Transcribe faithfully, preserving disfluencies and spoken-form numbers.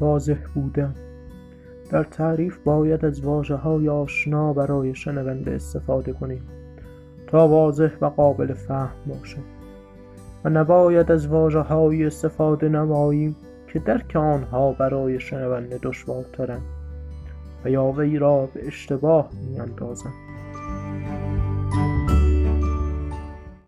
واضح بودن. در تعریف باید از واژه‌های آشنا برای شنونده استفاده کنیم تا واضح و قابل فهم باشد و نباید از واژه‌هایی استفاده نماییم که درک آنها برای شنونده دشوارترند و یا وی را به اشتباه می‌اندازند.